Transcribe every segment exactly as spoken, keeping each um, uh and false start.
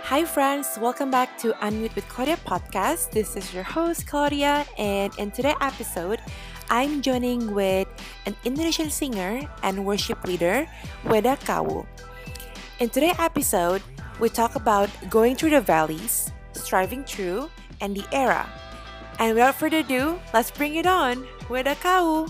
Hi, friends. Welcome back to Unmute with Claudia podcast. This is your host, Claudia, and in today's episode, I'm joining with an Indonesian singer and worship leader, Weda Kawu. In today's episode, we talk about going through the valleys, striving through, and the era. And without further ado, let's bring it on, Weda Kawu.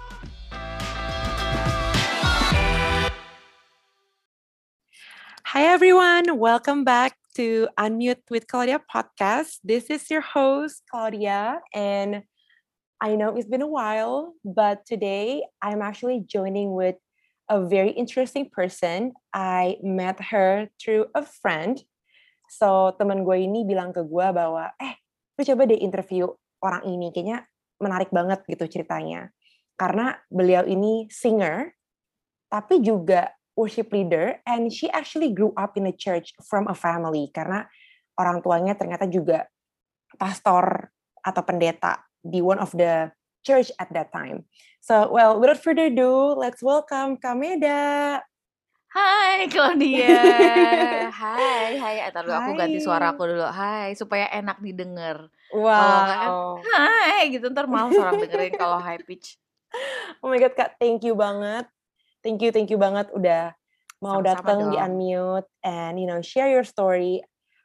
Hi, everyone. Welcome back to Unmute with Claudia podcast. This is your host, Claudia, and I know it's been a while, but today I'm actually joining with a very interesting person. I met her through a friend. So, teman gue ini bilang ke gue bahwa, eh, lu coba deh interview orang ini. Kayaknya menarik banget gitu ceritanya. Karena beliau ini singer, tapi juga worship leader, and she actually grew up in a church from a family karena orang tuanya ternyata juga pastor atau pendeta di one of the church at that time. So, well, without further ado, let's welcome Kameda. Hai Claudia. Hai, hai. Entar dulu aku ganti suara aku dulu. Hai, supaya enak didengar. Wow. Kalau enggak kan, hai gitu, ntar malas orang dengerin kalau high pitch. Oh my God, Kak, thank you banget. Thank you, thank you banget udah mau datang di Unmute and, you know, share your story.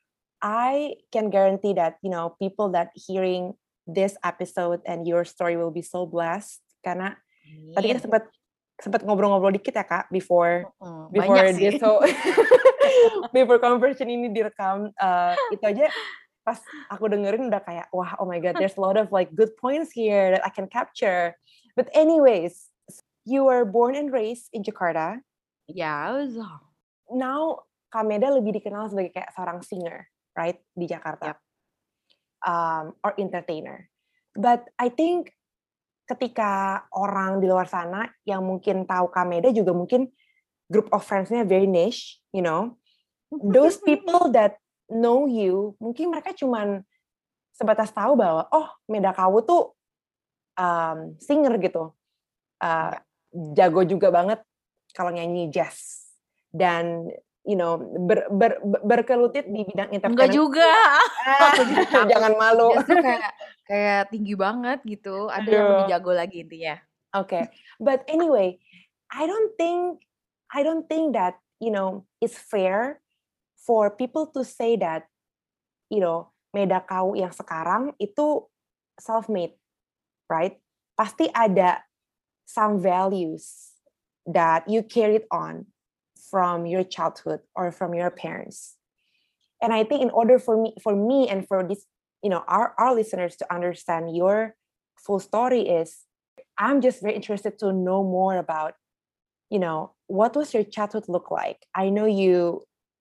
I can guarantee that, you know, people that hearing this episode and your story will be so blessed. Karena yeah. Tadi kita sempat sempat ngobrol-ngobrol dikit ya, Kak, before uh-uh, before this so before conversation ini direkam. Uh, itu aja pas aku dengerin udah kayak, wah, oh my God, there's a lot of like good points here that I can capture. But anyways, you were born and raised in Jakarta. Ya, yeah. Now, Kameda lebih dikenal sebagai kayak seorang singer, right, di Jakarta. Yep. Um, or entertainer. But I think ketika orang di luar sana yang mungkin tahu Kameda juga mungkin group of friends-nya very niche, you know. Those people that know you, mungkin mereka cuman sebatas tahu bahwa, oh, Meda Kawu tuh um, singer gitu. Uh, yeah. Jago juga banget kalau nyanyi jazz dan you know ber, ber, ber, berkelutit di bidang entertainment. Enggak juga. Ah, jangan malu. Jazz tuh kayak kayak tinggi banget gitu. Ada Aduh. Yang lebih jago lagi intinya. Oke, okay. But anyway, I don't think I don't think that you know it's fair for people to say that you know Meda Kawu yang sekarang itu self-made, right? Pasti ada some values that you carried on from your childhood or from your parents. And I think in order for me, for me and for this, you know, our, our listeners to understand your full story is, I'm just very interested to know more about, you know, what was your childhood look like? I know you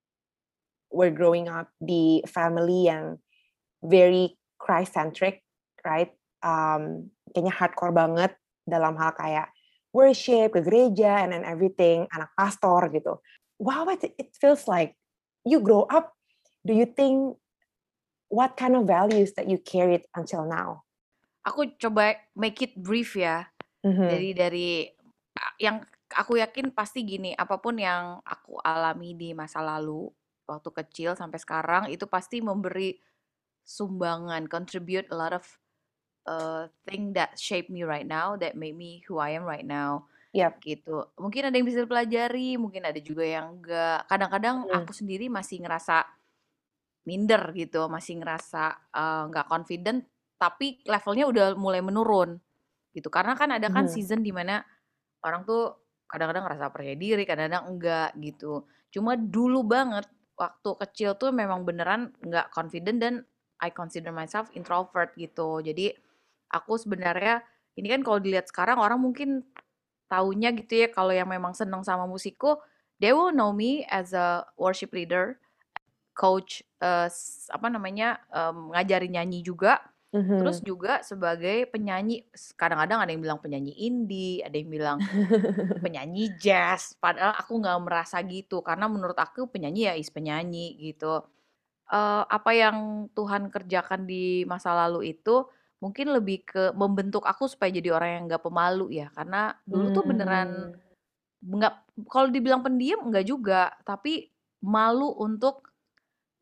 were growing up di family yang very Christ-centric, right? Um, kayaknya hardcore banget dalam hal kayak worship, ke gereja, and then everything, anak pastor gitu. Wow, it, it feels like you grow up. Do you think what kind of values that you carried until now? Aku coba make it brief ya. Mm-hmm. Dari dari yang aku yakin pasti gini, apapun yang aku alami di masa lalu, waktu kecil sampai sekarang, itu pasti memberi sumbangan, contribute a lot of uh, thing that shape me right now, that made me who I am right now. Yep. Gitu. Mungkin ada yang bisa dipelajari, mungkin ada juga yang enggak. Kadang-kadang mm. aku sendiri masih ngerasa minder gitu, masih ngerasa uh, nggak confident, tapi levelnya udah mulai menurun gitu. Karena kan ada kan mm. season dimana orang tuh kadang-kadang ngerasa percaya diri, kadang-kadang enggak gitu. Cuma dulu banget waktu kecil tuh memang beneran nggak confident dan I consider myself introvert gitu. Jadi aku sebenarnya ini kan kalau dilihat sekarang orang mungkin taunya gitu ya, kalau yang memang seneng sama musikku, they will know me as a worship leader, coach, uh, apa namanya, um, ngajarin nyanyi juga, mm-hmm. Terus juga sebagai penyanyi. Kadang-kadang ada yang bilang penyanyi indie, ada yang bilang penyanyi jazz. Padahal aku nggak merasa gitu, karena menurut aku penyanyi ya is penyanyi gitu. Uh, apa yang Tuhan kerjakan di masa lalu itu mungkin lebih ke membentuk aku supaya jadi orang yang nggak pemalu ya. Karena dulu tuh beneran nggak, kalau dibilang pendiam nggak juga, tapi malu untuk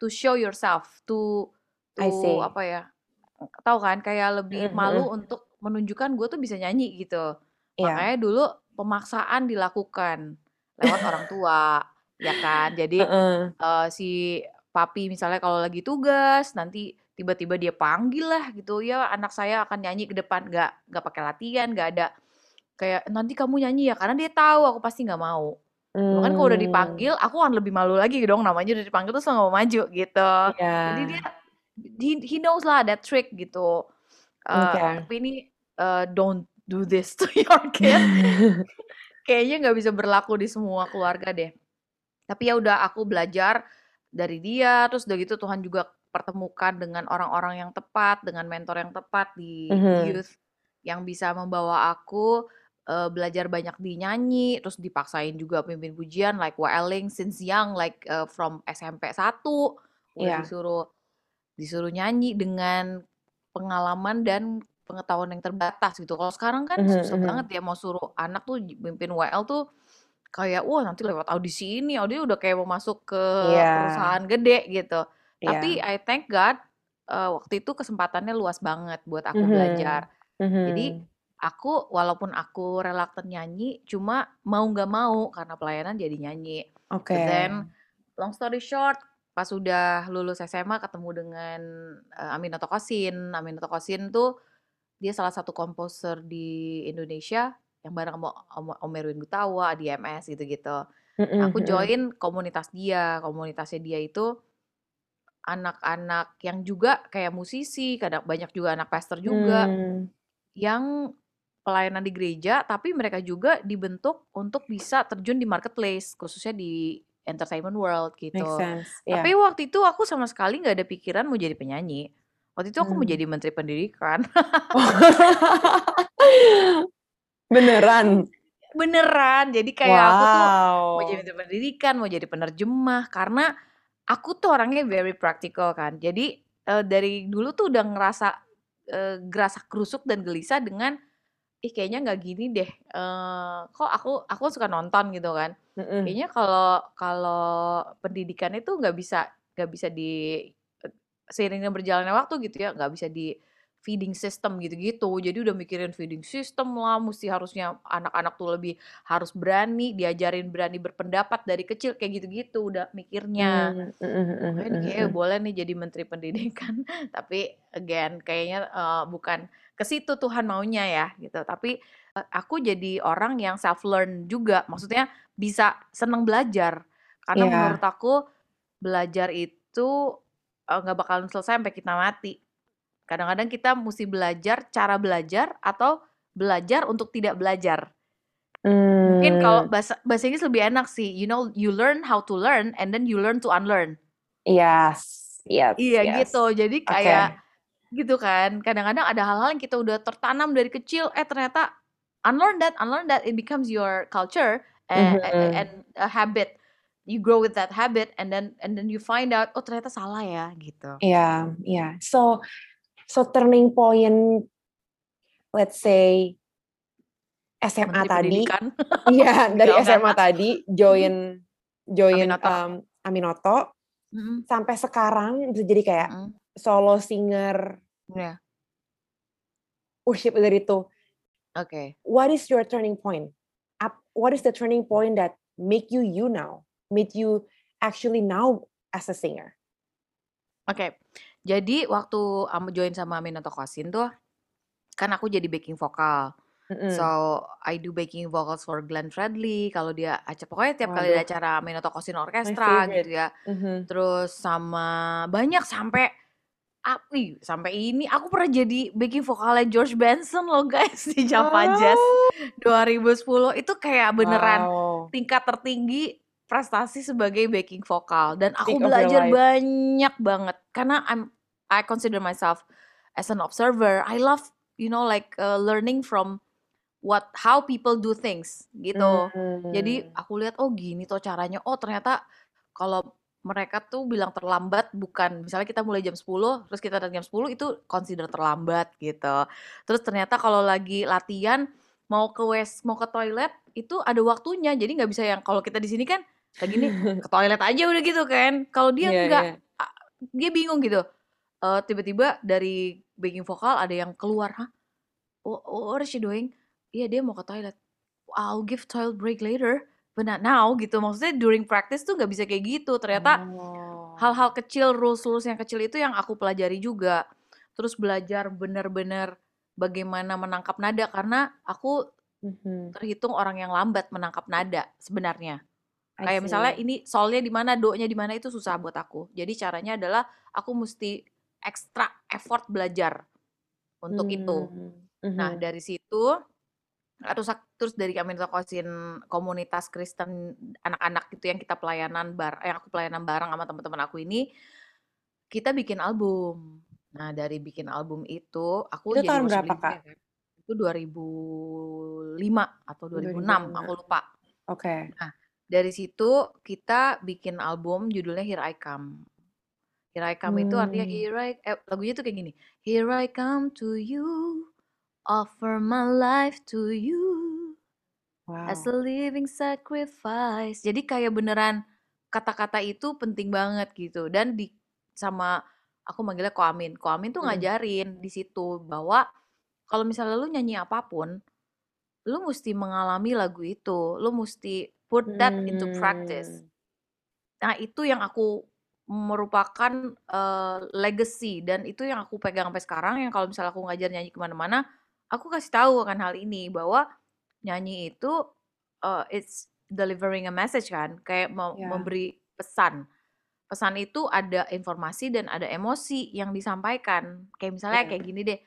to show yourself, to I to see. apa ya, tahu kan kayak lebih Mhm malu mhm. untuk menunjukkan gue tuh bisa nyanyi gitu. Iya. Makanya dulu pemaksaan dilakukan lewat orang tua, ya kan. Jadi, Heeh. eee, si papi misalnya kalau lagi tugas, nanti tiba-tiba dia panggil lah gitu, "Ya anak saya akan nyanyi ke depan." Nggak nggak pakai latihan, nggak ada kayak, "Nanti kamu nyanyi ya?" Karena dia tahu aku pasti nggak mau. Cuma kan kalau udah Mmm. dipanggil, aku akan lebih malu lagi dong, namanya udah dipanggil terus nggak mau maju gitu. Jadi dia Iya. he he knows lah that trick gitu. Eee, Oke. tapi ini, eee, don't do this to your kid. Kayaknya nggak bisa berlaku di semua keluarga deh. Tapi ya udah aku belajar dari dia, terus udah gitu Tuhan juga pertemukan dengan orang-orang yang tepat, dengan mentor yang tepat di Mhm. youth, yang bisa membawa aku, eee, belajar banyak di nyanyi, terus dipaksain juga pimpin pujian like waeling since young, like, eee, from S M P satu udah Iya. disuruh disuruh nyanyi dengan pengalaman dan pengetahuan yang terbatas gitu. Kalau sekarang kan Mhm susah banget mhm. ya mau suruh anak tuh mimpin W L tuh kayak, wah nanti lewat audisi ini, audisi udah kayak mau masuk ke Iya. perusahaan gede gitu. Tapi Iya. I thank God, eee, waktu itu kesempatannya luas banget buat aku Mhm. belajar. Jadi Mhm. aku walaupun aku reluctant nyanyi, cuma mau nggak mau karena pelayanan jadi nyanyi. Oke. But then long story short, pas udah lulus S M A ketemu dengan, eee, Aminata Kosin. Aminata Kosin tuh dia salah satu komposer di Indonesia yang bareng sama sama Om Erwin Gutawa, D M S gitu-gitu. Nah Mhm aku mhm. join komunitas dia, komunitasnya dia itu anak-anak yang juga kayak musisi, kadang banyak juga anak pastor juga, Mmm. yang pelayanan di gereja, tapi mereka juga dibentuk untuk bisa terjun di marketplace, khususnya di entertainment world Make gitu. sense, Tapi iya. waktu itu aku sama sekali nggak ada pikiran mau jadi penyanyi. Waktu itu aku mau Mmm. jadi menteri pendidikan. Beneran? Beneran, jadi kayak aku tuh mau jadi Wow. menteri pendidikan, mau jadi penerjemah, karena aku tuh orangnya very practical kan. Jadi, eee, dari dulu tuh udah ngerasa, eee, gerasa-gerusuk dan gelisah dengan, ih kayaknya nggak gini deh, eee, kok aku aku suka nonton gitu kan. Mhm. Kayaknya kalau kalau pendidikan itu nggak bisa nggak bisa di e seiring dengan berjalannya waktu gitu ya, nggak bisa di-feeding system gitu-gitu. Jadi udah mikirin feeding system lah, musti harusnya anak-anak tuh lebih harus berani, diajarin berani berpendapat dari kecil, kayak gitu-gitu udah mikirnya. Mmm, mhm mhm Makanya nih mhm kayaknya mhm. boleh nih jadi menteri pendidikan. Tapi again kayaknya, eee, bukan ke situ Tuhan maunya ya gitu. Tapi, e aku jadi orang yang self learn juga, maksudnya bisa seneng belajar. Karena menurut Iya. aku belajar itu, eee, nggak bakalan selesai sampai kita mati. Kadang-kadang kita musti belajar cara belajar atau belajar untuk tidak belajar. Mungkin kalau Mmm. bahasa bahasa Inggris lebih enak sih, you know, you learn how to learn and then you learn to unlearn. Yes, yes Iya yes. gitu, jadi kayak Oke. gitu kan. Kadang-kadang ada hal-hal yang kita udah tertanam dari kecil, eh ternyata unlearn that unlearn that, it becomes your culture, eh e e and Mhm. a habit. You grow with that habit and then and then you find out, oh ternyata salah ya, gitu. Iya iya. So so turning point, let's say S M A Menteri tadi pendidikan, iya, dari enggak S enggak M A enggak. tadi Mhm. join join, Aminoto. mmm, Aminoto, Mhm. sampai sekarang bisa jadi kayak Mhm. solo singer Iya. worship leader itu. Oke. What is your turning point? Ap what is the turning point that make you, you now? Made you actually now as a singer? Oke. Jadi waktu am join sama Aminoto Kosin tuh, kan aku jadi backing vokal. So, Mhm. I do backing vocals for Glenn Fredly, kalau dia aca pokoknya tiap kali ada Waduh. acara Aminoto Kosin My Orkestra gitu favorite. ya. Mhm. Terus sama banyak sampai ap ih, sampai ini aku pernah jadi backing vokalnya George Benson loh guys di Java Jazz Oh. dua ribu sepuluh. Itu kayak beneran Wow. tingkat tertinggi prestasi sebagai backing vokal dan aku Peak of your belajar life. banyak banget karena I'm I consider myself as an observer. I love, you know, like, eee, learning from what how people do things gitu. Jadi Mmm. aku lihat, oh gini tuh caranya, oh ternyata kalau mereka tuh bilang terlambat bukan misalnya kita mulai jam sepuluh, terus kita datang jam sepuluh itu consider terlambat gitu. Terus ternyata kalau lagi latihan mau ke wes mau ke toilet itu ada waktunya, jadi nggak bisa yang kalau kita di sini kan lagi nih ke toilet aja udah gitu kan. Kalau dia Iya enggak, iya. a dia bingung gitu. Uh, tiba-tiba dari backing vokal ada yang keluar, hah? What, what is she doing? Iya, dia mau ke toilet. I'll give toilet break later, but not now gitu. Maksudnya during practice tuh nggak bisa kayak gitu. Ternyata Oh. hal-hal kecil, rules-rules yang kecil itu yang aku pelajari juga. Terus belajar benar-benar bagaimana menangkap nada karena aku Mhm. terhitung orang yang lambat menangkap nada sebenarnya. I Kayak misalnya see. ini solnya di mana, do-nya di mana itu susah buat aku. Jadi caranya adalah aku mesti ekstra effort belajar untuk itu. Hmm, Nah, mhm. dari situ terus terus dari kami tokosin komunitas Kristen anak-anak gitu yang kita pelayanan bar yang aku pelayanan bareng sama teman-teman aku ini, kita bikin album. Nah, dari bikin album itu aku Itu jadi tahun worship berapa, leader Kak? ya kan. Itu dua ribu lima atau dua ribu enam, aku dua ribu lima. lupa. Oke. Nah, dari situ kita bikin album judulnya Here I Come. Here I Come itu artinya Hmm. here I eh, lagunya tuh kayak gini. Here I come to you, offer my life to you as a Wow. living sacrifice. Jadi kayak beneran kata-kata itu penting banget gitu. Dan di sama aku manggilnya Ko Amin. Ko Amin tuh Mhm. ngajarin di situ bahwa kalau misalnya lu nyanyi apapun, lu mesti mengalami lagu itu. Lu mesti put that into practice. Hmm. Nah, itu yang aku merupakan uh, legacy dan itu yang aku pegang sampai sekarang yang kalau misalnya aku ngajar nyanyi kemana-mana, aku kasih tahu akan hal ini bahwa nyanyi itu uh, it's delivering a message kan, kayak mau Ya. memberi pesan. Pesan itu ada informasi dan ada emosi yang disampaikan. Kayak misalnya Ya. kayak gini deh,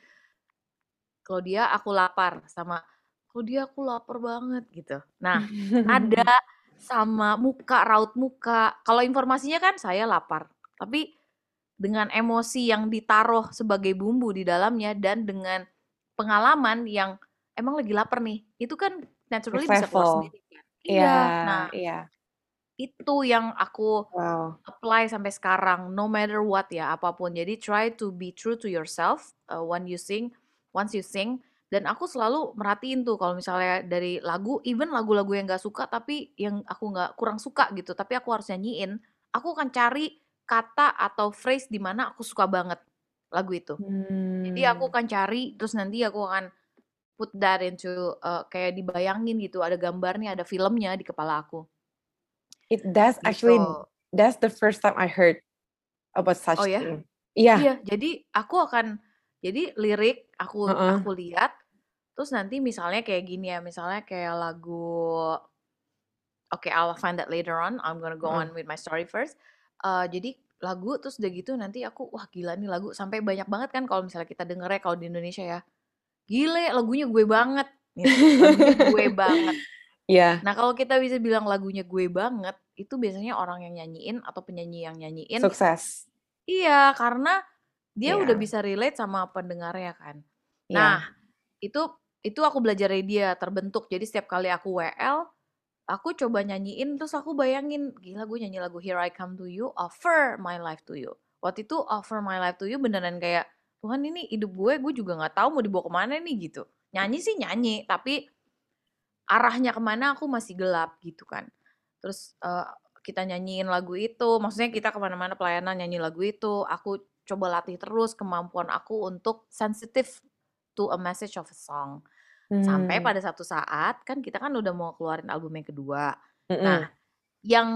Claudia aku lapar sama Claudia aku lapar banget gitu. Nah, nada sama muka, raut muka. Kalau informasinya kan saya lapar. Tapi dengan emosi yang ditaruh sebagai bumbu di dalamnya dan dengan pengalaman yang emang lagi lapar nih. Itu kan naturally Next bisa keluar level. sendiri kan. Iya, Iya. Nah, iya. itu yang aku Wow. apply sampai sekarang no matter what ya apapun. Jadi try to be true to yourself uh, when you sing, once you sing. Dan aku selalu merhatiin tuh kalau misalnya dari lagu, even lagu-lagu yang gak suka tapi yang aku gak kurang suka gitu, tapi aku harus nyanyiin, aku akan cari kata atau phrase di mana aku suka banget lagu itu. Jadi aku Hmm. akan cari, terus nanti aku akan put that into uh, kayak dibayangin gitu, ada gambarnya, ada filmnya di kepala aku. It does Gitu. actually, that's the first time I heard about Oh such ya? thing. Iya. Iya, jadi aku akan jadi lirik aku Heeh. aku lihat, terus nanti misalnya kayak gini ya, misalnya kayak lagu Oke, I'll find that later on. I'm gonna go Heeh. on with my story first. Uh, jadi lagu terus udah gitu nanti aku wah gila nih lagu sampai banyak banget kan kalau misalnya kita dengernya kalau di Indonesia ya. Gile, lagunya gue banget gitu. Lagunya gue banget. Iya. Nah, kalau kita bisa bilang lagunya gue banget, itu biasanya orang yang nyanyiin atau penyanyi yang nyanyiin. Sukses. Iya, karena dia udah Iya. bisa relate sama pendengarnya kan. Nah, Iya. itu itu aku belajar dari dia terbentuk. Jadi setiap kali aku W L, aku coba nyanyiin terus aku bayangin, gila gue nyanyi lagu Here I Come to You, offer my life to you. Waktu itu offer my life to you beneran kayak, Tuhan ini hidup gue, gue juga gak tahu mau dibawa kemana nih gitu. Nyanyi sih nyanyi, tapi arahnya kemana aku masih gelap gitu kan. Terus uh, kita nyanyiin lagu itu, maksudnya kita kemana-mana pelayanan nyanyi lagu itu, aku coba latih terus kemampuan aku untuk sensitive to a message of a song. Sampai Hmm. pada satu saat, kan kita kan udah mau keluarin album yang kedua. Nah, Mm-mm. yang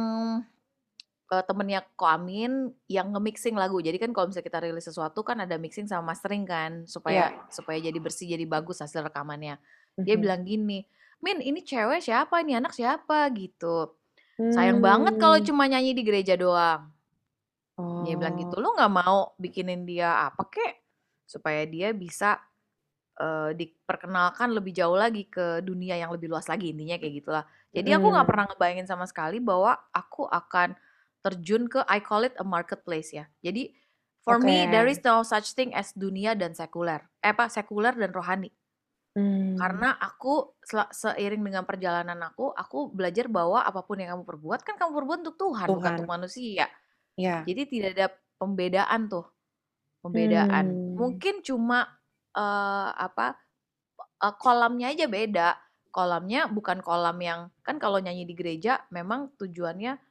uh, temennya Ko Amin yang nge-mixing lagu. Jadi kan kalau misalnya kita rilis sesuatu kan ada mixing sama mastering kan, supaya Iya. supaya jadi bersih, jadi bagus hasil rekamannya. Dia Mhm. bilang gini, Min ini cewek siapa, ini anak siapa gitu. Sayang banget kalau Hmm. cuma nyanyi di gereja doang. Dia bilang Oh. gitu, lo gak mau bikinin dia apa kek, supaya dia bisa uh, diperkenalkan lebih jauh lagi ke dunia yang lebih luas lagi, intinya kayak gitulah. Jadi aku nggak Mm. pernah ngebayangin sama sekali bahwa aku akan terjun ke I call it a marketplace ya. Jadi for Oke. me there is no such thing as dunia dan sekuler. Eh apa sekuler dan rohani. Hmm. Karena aku seiring dengan perjalanan aku, aku belajar bahwa apapun yang kamu perbuat kan kamu perbuat untuk Tuhan, Tuhan. bukan untuk manusia. Ya. Jadi tidak ada pembedaan tuh, pembedaan. Hmm. Mungkin cuma uh, apa uh, kolamnya aja beda. Kolamnya bukan kolam yang kan kalau nyanyi di gereja memang tujuannya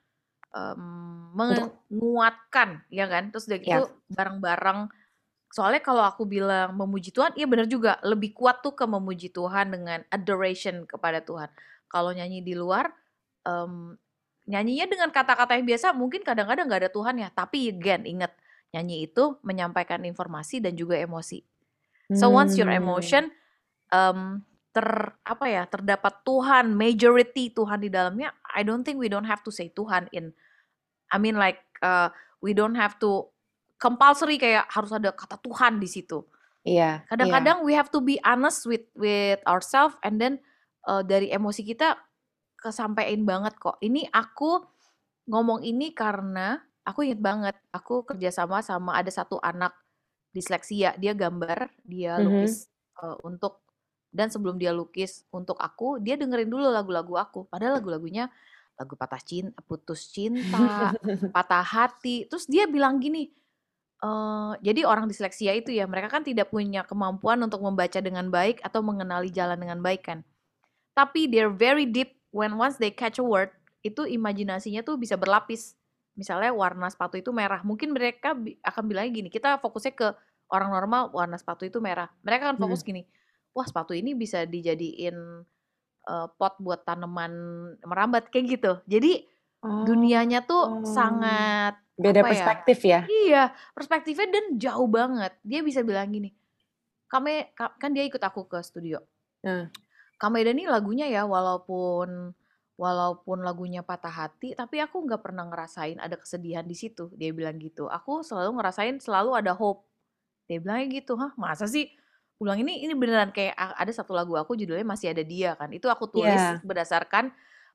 mmm, Untuk menguatkan, ya kan? Terus udah gitu ya. bareng-bareng soalnya kalau aku bilang memuji Tuhan, iya bener juga, lebih kuat tuh ke memuji Tuhan dengan adoration kepada Tuhan. Kalau nyanyi di luar, mmm, nyanyinya dengan kata-kata yang biasa mungkin kadang-kadang nggak ada Tuhan ya, tapi again inget, nyanyi itu menyampaikan informasi dan juga emosi. So once your Mmm. emotion, mmm, ter apa ya, terdapat Tuhan, majority Tuhan di dalamnya, I don't think we don't have to say Tuhan in I mean like, eee, we don't have to compulsory kayak harus ada kata Tuhan di situ. Iya iya. Kadang-kadang we have to be honest with with ourself and then, eee, dari emosi kita kesampein banget kok. Ini aku ngomong ini karena aku inget banget, aku kerja sama sama ada satu anak disleksia, dia gambar, dia Mhm. lukis, eee, untuk dan sebelum dia lukis untuk aku, dia dengerin dulu lagu-lagu aku. Padahal lagu-lagunya lagu patah cin putus cinta, patah hati, terus dia bilang gini, eee, jadi orang disleksia itu ya, mereka kan tidak punya kemampuan untuk membaca dengan baik atau mengenali jalan dengan baik kan. Tapi they're very deep when once they catch a word, itu imajinasinya tuh bisa berlapis. Misalnya warna sepatu itu merah, mungkin mereka bi akan bilangnya gini, kita fokusnya ke orang normal warna sepatu itu merah. Mereka akan fokus Mhm. gini, "Wah sepatu ini bisa dijadiin, eee, pot buat tanaman merambat," kayak gitu. Jadi dunianya tuh Oh, sangat beda apa ya perspektif ya? iya, perspektifnya dan jauh banget. Dia bisa bilang gini, "Kame" ka kan dia ikut aku ke studio. Nah. "Kak Medan nih lagunya ya walaupun walaupun lagunya patah hati, tapi aku nggak pernah ngerasain ada kesedihan di situ," dia bilang gitu. "Aku selalu ngerasain selalu ada hope." Dia bilangnya gitu. "Hah, masa sih?" Aku bilang, "Ini ini beneran kayak a ada satu lagu aku judulnya Masih Ada Dia kan, itu aku tulis Iya. berdasarkan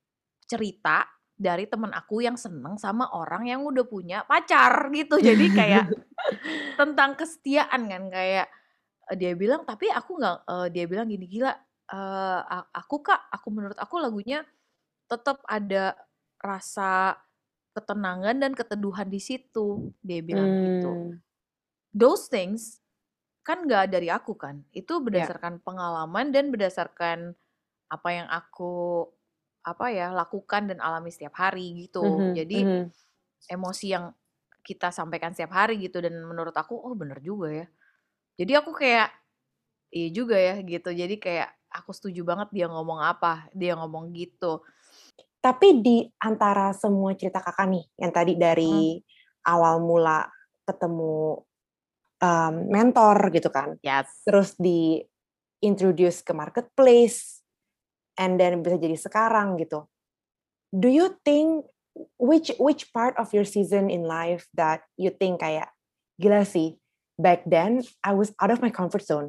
cerita dari temen aku yang seneng sama orang yang udah punya pacar gitu. Jadi kayak tentang kesetiaan kan, kayak, eee, dia bilang, "Tapi aku nggak" eee, dia bilang gini, "Gila, eee, a aku Kak, aku menurut aku lagunya tetep ada rasa ketenangan dan keteduhan di situ," dia bilang gitu. Mmm. Those things kan nggak dari aku kan, itu Ya. berdasarkan pengalaman dan berdasarkan apa yang aku, apa ya, lakukan dan alami setiap hari gitu. Mhm Jadi mhm. emosi yang kita sampaikan setiap hari gitu dan menurut aku, "Oh bener juga ya." Jadi aku kayak, iya juga ya gitu. Jadi kayak aku setuju banget dia ngomong apa, dia ngomong gitu. Tapi di antara semua cerita Kakak nih, yang tadi Mhm. dari awal mula ketemu, mmm, mentor gitu kan, Yes. terus di-introduce ke marketplace, and then bisa jadi sekarang gitu. Do you think which which part of your season in life that you think kayak, "Gila sih, back then I was out of my comfort zone."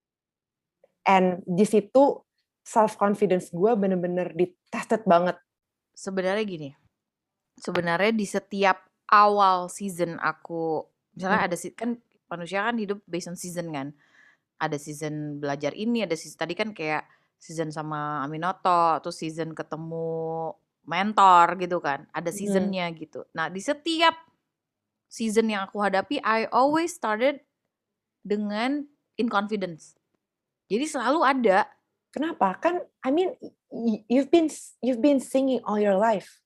And di situ self confidence gue bener-bener di-tested banget. Sebenarnya gini, sebenarnya di setiap awal season aku misalnya Mhm. ada si kan manusia kan hidup based on season kan. Ada season belajar ini, ada season tadi kan kayak season sama Aminoto, terus season ketemu mentor gitu kan, ada Mhm. season-nya gitu. Nah, di setiap season yang aku hadapi, I always started dengan in confidence. Jadi selalu ada. Kenapa? Kan I mean y you've been you've been singing all your life.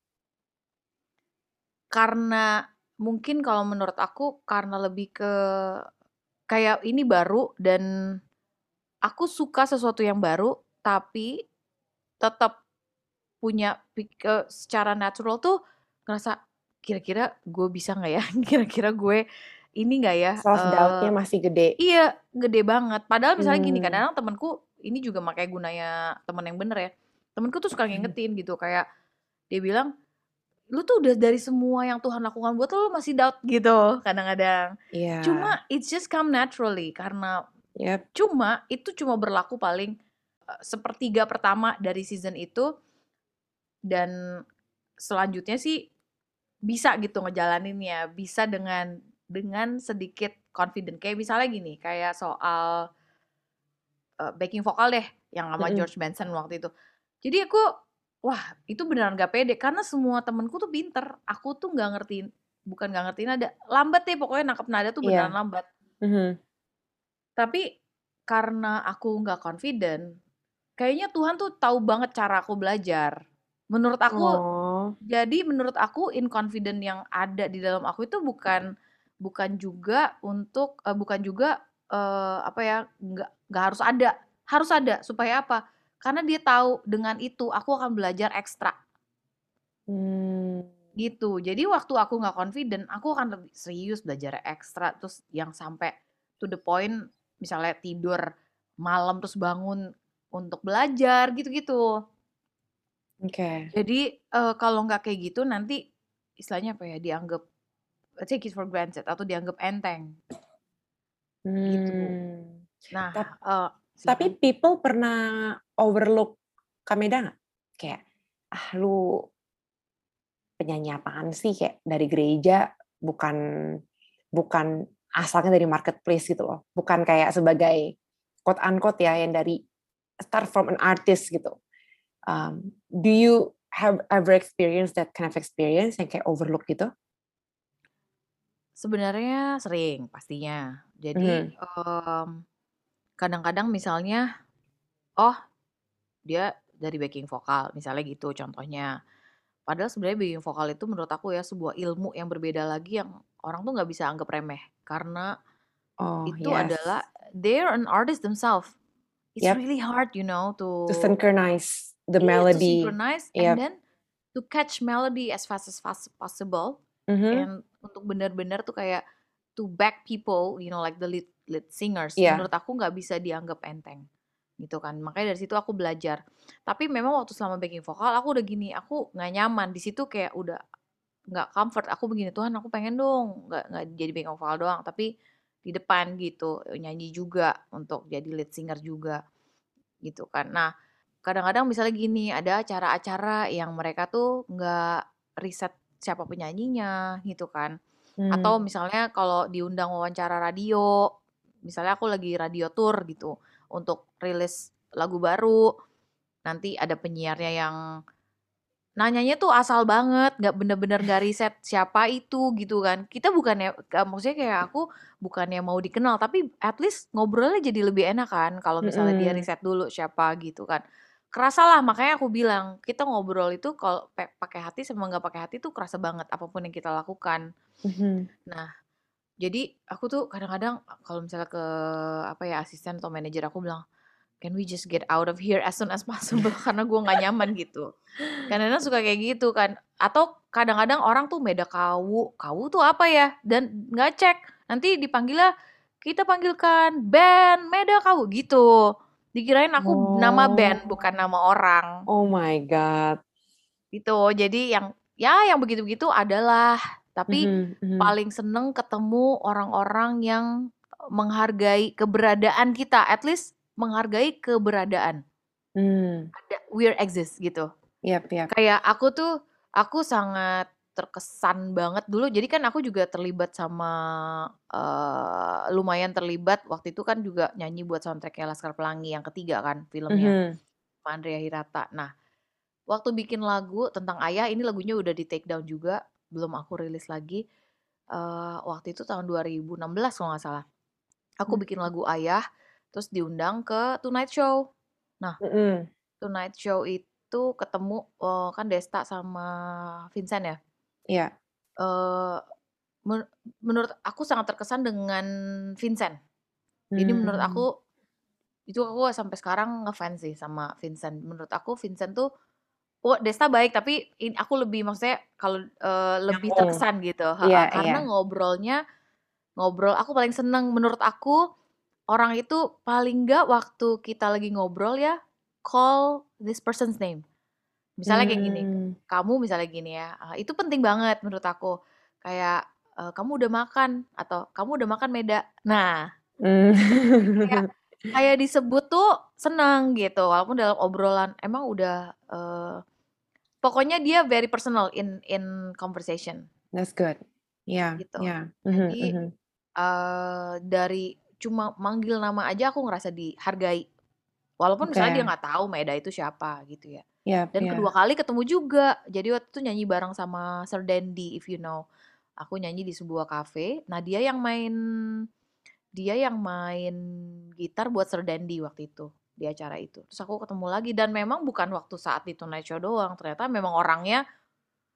Karena mungkin kalau menurut aku karena lebih ke kayak ini baru dan aku suka sesuatu yang baru, tapi tetap punya pik eee, secara natural tuh ngerasa, "Kira-kira gue bisa nggak ya? Kira-kira gue ini nggak ya?" Self Eee, doubt-nya masih gede. iya, gede banget. Padahal misalnya gini, Mmm. kadang-kadang temenku ini juga makanya gunanya temen yang bener ya, temenku tuh suka ngingetin gitu, kayak dia bilang, "Lu tuh udah dari semua yang Tuhan lakukan buat lu, lu masih doubt," gitu kadang-kadang. Iya. Cuma it's just come naturally karena Yap. cuma itu cuma berlaku paling, eee, sepertiga pertama dari season itu dan selanjutnya sih bisa gitu ngejalaninnya, bisa dengan dengan sedikit confident. Kayak misalnya gini, kayak soal, eee, backing vokal deh yang sama Mhm. George Benson waktu itu. Jadi aku, wah itu beneran nggak pede karena semua temenku tuh pinter, aku tuh nggak ngertiin bukan nggak ngertiin nada, lambat deh pokoknya nangkep nada tuh beneran Iya. lambat. Mhm. Tapi karena aku nggak confident, kayaknya Tuhan tuh tahu banget cara aku belajar. Menurut aku Oh. Jadi menurut aku inconfident yang ada di dalam aku itu bukan bukan juga untuk uh, bukan juga uh, apa ya nggak nggak harus ada harus ada supaya apa? Karena dia tahu dengan itu aku akan belajar ekstra Hmm. gitu. Jadi waktu aku nggak confident, aku akan lebih serius belajar ekstra terus yang sampai to the point misalnya tidur malam terus bangun untuk belajar gitu-gitu. Oke. Okay. Jadi uh, kalau nggak kayak gitu nanti istilahnya apa ya dianggap take it for granted atau dianggap enteng gitu. Hmm. Nah, Tap- uh, tapi silakan. people pernah overlook Kameda nggak? Kayak, ah lu penyanyi apaan sih, kayak dari gereja, bukan bukan asalnya dari marketplace gitu loh, bukan kayak sebagai quote unquote ya yang dari start from an artist gitu. Um, do you have ever experienced that kind of experience yang kayak overlook gitu? Sebenarnya sering pastinya. Jadi Mhm. um, kadang-kadang misalnya, oh dia dari backing vokal, misalnya gitu contohnya. Padahal sebenarnya backing vokal itu menurut aku ya sebuah ilmu yang berbeda lagi yang orang tuh nggak bisa anggap remeh karena Oh itu yes, adalah they're an artist themselves. It's yep. really hard, you know, to To synchronize the yeah, to melody, synchronize and yep. then to catch melody as fast as fast possible Mhm. and untuk benar-benar tuh kayak to back people, you know, like the lead lead singers. Yeah. Menurut aku nggak bisa dianggap enteng gitu kan. Makanya dari situ aku belajar. Tapi memang waktu selama backing vokal aku udah gini, aku nggak nyaman di situ kayak udah nggak comfort. Aku begini Tuhan, aku pengen dong nggak nggak jadi backing vokal doang, tapi di depan gitu nyanyi juga untuk jadi lead singer juga gitu kan. Nah, kadang-kadang misalnya gini, ada acara-acara yang mereka tuh nggak riset siapa penyanyinya gitu kan. Atau Hmm. misalnya kalau diundang wawancara radio, misalnya aku lagi radio tour gitu untuk rilis lagu baru, nanti ada penyiarnya yang nanyanya tuh asal banget, nggak bener-bener nggak riset siapa itu gitu kan. Kita bukannya, gak, maksudnya kayak aku bukannya mau dikenal, tapi at least ngobrolnya jadi lebih enak kan kalau misalnya dia Mm-mm. riset dulu siapa gitu kan. Kerasa lah, makanya aku bilang kita ngobrol itu kalau pe- pakai hati sama nggak pakai hati tuh kerasa banget apapun yang kita lakukan. Mhm. Nah, jadi aku tuh kadang-kadang kalau misalnya ke apa ya asisten atau manajer aku bilang, can we just get out of here as soon as possible karena gue nggak nyaman gitu. Kadang-kadang suka kayak gitu kan. Atau kadang-kadang orang tuh meda kawu. Kawu tuh apa ya? Dan nggak cek. Nanti dipanggilnya, kita panggilkan band meda kawu gitu. Dikirain aku nama band, bukan Oh, nama orang. oh my God. Gitu. Jadi yang, ya yang begitu-begitu adalah. Tapi Mhm, mhm. paling seneng ketemu orang-orang yang menghargai keberadaan kita. At least menghargai keberadaan. Hmm. Ada, we're exist gitu. Yep, yep. Kayak aku tuh, aku sangat terkesan banget dulu. Jadi kan aku juga terlibat sama uh, lumayan terlibat waktu itu kan juga nyanyi buat soundtracknya Laskar Pelangi yang ketiga kan filmnya Mhm. sama Andrea Hirata. Nah, waktu bikin lagu tentang ayah ini lagunya udah di take down juga, belum aku rilis lagi. Uh, waktu itu tahun dua ribu enam belas kalau nggak salah. Aku bikin lagu ayah, terus diundang ke Tonight Show. Nah, Mhm. Tonight Show itu ketemu uh, kan Desta sama Vincent ya. Iya. Uh, men- menurut aku sangat terkesan dengan Vincent. Jadi menurut Hmm. aku itu aku sampai sekarang ngefans sih sama Vincent. Menurut aku Vincent tuh, oh Desta baik tapi in- aku lebih maksudnya kalau uh, lebih Nyambung. terkesan gitu. Iya, Ha-ha. iya. Karena ngobrolnya ngobrol aku paling seneng menurut aku orang itu paling nggak waktu kita lagi ngobrol ya call this person's name. Misalnya kayak gini, Hmm. kamu misalnya gini ya, ah, itu penting banget menurut aku. Kayak, eee, "Kamu udah makan?" Atau, "Kamu udah makan, Meda?" Nah, itu tuh jadi kayak Hmm. kayak disebut tuh seneng gitu, walaupun dalam obrolan emang udah, eee, pokoknya dia very personal in in conversation, That's good. Yeah, gitu. yeah. Mhm, Jadi, mhm. eee, dari cuma manggil nama aja aku ngerasa dihargai. Walaupun misalnya dia Oke. nggak tahu Maeda itu siapa gitu ya. Yep, Dan kedua yeah. kali ketemu juga. Jadi waktu itu nyanyi bareng sama Sir Dandy if you know. Aku nyanyi di sebuah cafe. Nah, dia yang main dia yang main gitar buat Sir Dandy waktu itu di acara itu. Terus aku ketemu lagi dan memang bukan waktu saat di Tonight Show doang. Ternyata memang orangnya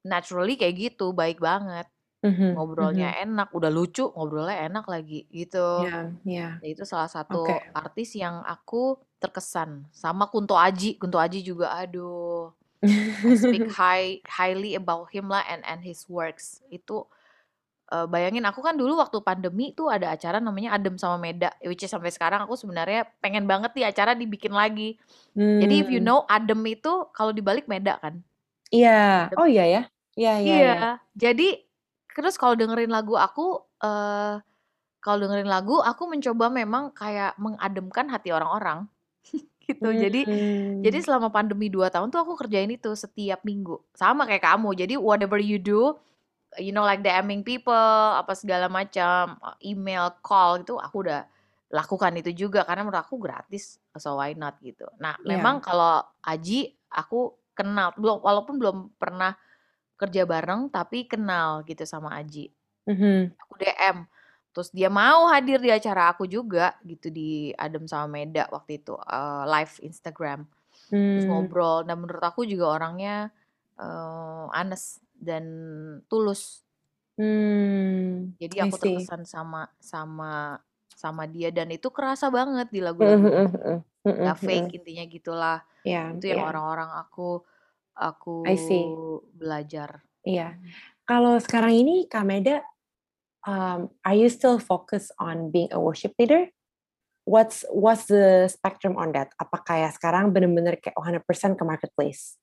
naturally kayak gitu, baik banget. Mhm Ngobrolnya mhm. enak, udah lucu, ngobrolnya enak lagi, gitu. Iya iya. Ya itu salah Oke. satu artis yang aku terkesan. Sama Kunto Aji, Kunto Aji juga aduh, I speak high highly about him lah and and his works. Itu, eee, bayangin aku kan dulu waktu pandemi tuh ada acara namanya Adem sama Meda, which is sampai sekarang aku sebenarnya pengen banget nih acara dibikin lagi. Jadi if you Mmm. know Adem itu kalau dibalik Meda kan. Iya. Adem Oh iya ya? Iya iya iya. iya, jadi terus kalau dengerin lagu aku, eee, kalau dengerin lagu aku mencoba memang kayak mengademkan hati orang-orang, gitu. Jadi jadi Mmm. selama pandemi dua tahun tuh aku kerjain itu setiap minggu, sama kayak kamu. Jadi whatever you do, you know like DMing people, apa segala macam, email, call, itu aku udah lakukan itu juga karena menurut aku gratis, so why not gitu. Nah memang Iya. kalau Aji aku kenal, belum walaupun belum pernah kerja bareng, tapi kenal gitu sama Aji. Mhm. Aku D M, terus dia mau hadir di acara aku juga gitu di Adem sama Meda waktu itu, eee, live Instagram. Terus Mmm. ngobrol dan menurut aku juga orangnya, eee, honest dan tulus. Mmm, Jadi I aku see. terkesan sama sama sama dia dan itu kerasa banget di Mhm lagu-lagunya. mhm mhm. Mhm Nggak fake mhm. intinya gitulah. Iya Itu yang iya. orang-orang aku aku I see. belajar. Iya. Mhm. Kalau sekarang ini Kak Meda, um, are you still focus on being a worship leader? What's what's the spectrum on that? Apa kayak sekarang bener-bener kayak one hundred percent ke marketplace?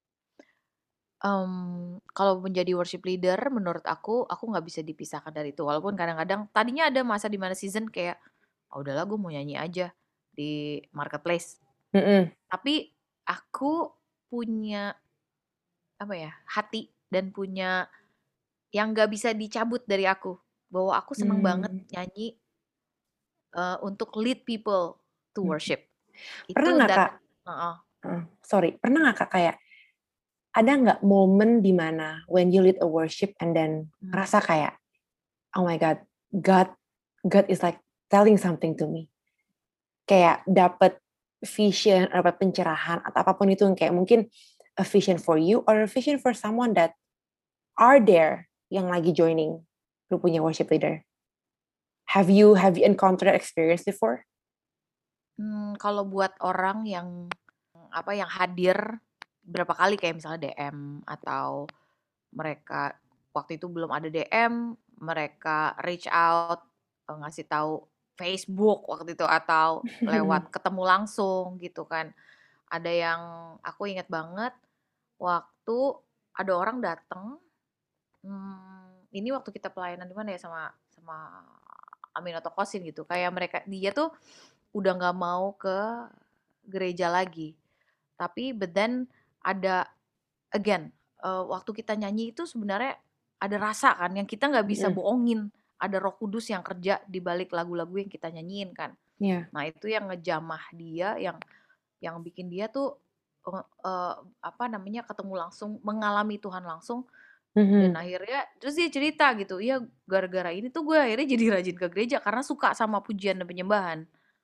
Mmm, kalau menjadi worship leader menurut aku, aku nggak bisa dipisahkan dari itu. Walaupun kadang-kadang tadinya ada masa di mana season kayak, "Ah udahlah gue mau nyanyi aja di marketplace." Mhm. Tapi aku punya, apa ya, hati dan punya yang nggak bisa dicabut dari aku, bahwa aku seneng banget Mmm. nyanyi, eee, untuk lead people to Mhm. worship. Pernah Itu nggak that Kak heeh. heeh, sorry, pernah nggak Kak kayak, ada nggak momen di mana when you lead a worship and then Mmm. ngerasa kayak, "Oh my God, God God is like telling something to me." Kayak dapet vision, dapet pencerahan atau apa pun itu yang kayak mungkin a vision for you or a vision for someone that are there yang lagi joining lu punya worship leader? Have you have you encounter that experience before? Mmm, kalau buat orang yang, apa, yang hadir berapa kali kayak misalnya D M atau mereka waktu itu belum ada D M, mereka reach out, eee, ngasih tahu Facebook waktu itu atau lewat ketemu langsung gitu kan. Ada yang aku inget banget waktu ada orang dateng, mmm, ini waktu kita pelayanan di mana ya sama sama Aminatou Kosin gitu, kayak mereka dia tuh udah nggak mau ke gereja lagi. Tapi but then ada again, eee, waktu kita nyanyi itu sebenarnya ada rasa kan yang kita nggak bisa Mhm. bohongin. Ada Roh Kudus yang kerja di balik lagu-lagu yang kita nyanyiin kan. Iya. Nah itu yang ngejamah dia, yang yang bikin dia tuh, eee eee, apa namanya, ketemu langsung, mengalami Tuhan langsung dan Mhm. akhirnya terus dia cerita gitu, "Iya gara-gara ini tuh gue akhirnya jadi rajin ke gereja karena suka sama pujian dan penyembahan."